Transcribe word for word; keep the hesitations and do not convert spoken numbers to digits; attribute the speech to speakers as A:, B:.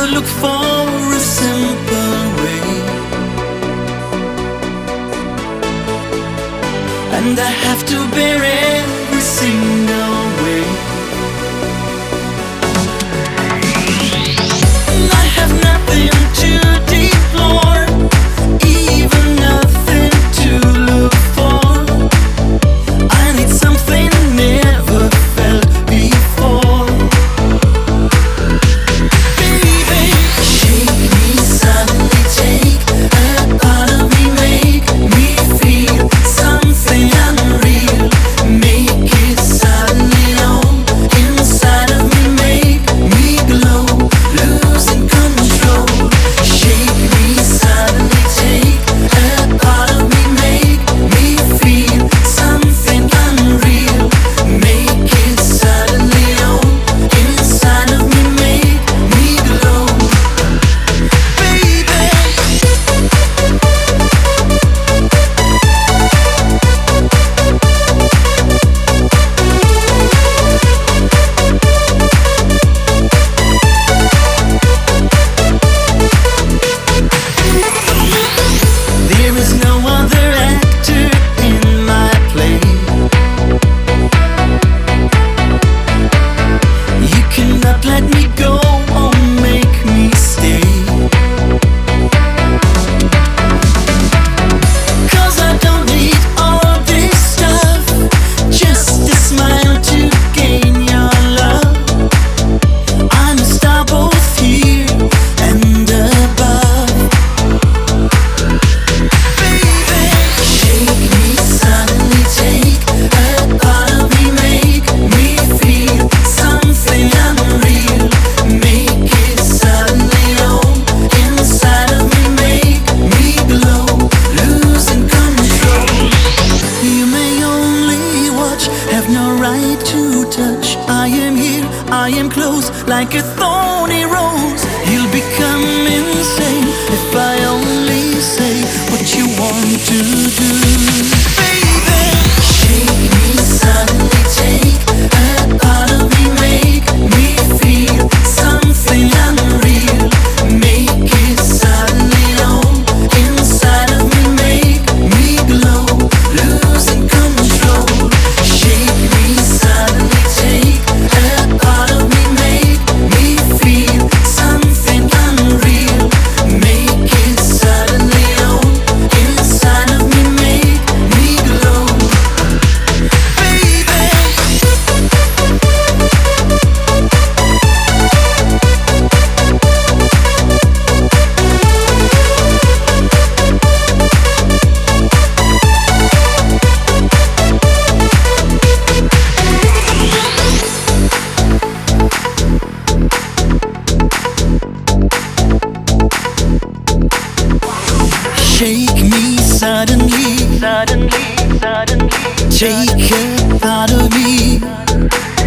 A: look for a simple way, and I have to bear every single way. I have nothing to deplore, even nothing to look for. I need something never felt before. Baby, shake me, suddenly take a part of me, make me feel something unreal. Make it suddenly on inside of me, make me glow, losing control. Shake me, suddenly take a part of me, make me feel something unreal. Make it suddenly on inside of me, make me glow. Baby, there is no other actor in my play. You cannot let me go or make me stay, 'cause I don't need all this stuff, just a smile to gain your love. I'm a star both here and above. Baby, shake me, suddenly take a part of me, make me feel something unreal. Make it suddenly on inside of me, make me glow, losing control. You may only watch, have no right to touch. I am here, I am close, like a thorny rose. You'll become insane if I only say what you want to do. Baby, shake me, suddenly take a part of me, make me feel something unreal. Make it suddenly on inside of me, make me glow, losing control. Shake me, suddenly take a part of me, make me feel something unreal. Make it suddenly on inside of me, make me glow. Baby, shake me suddenly, suddenly, suddenly. Take a part of me.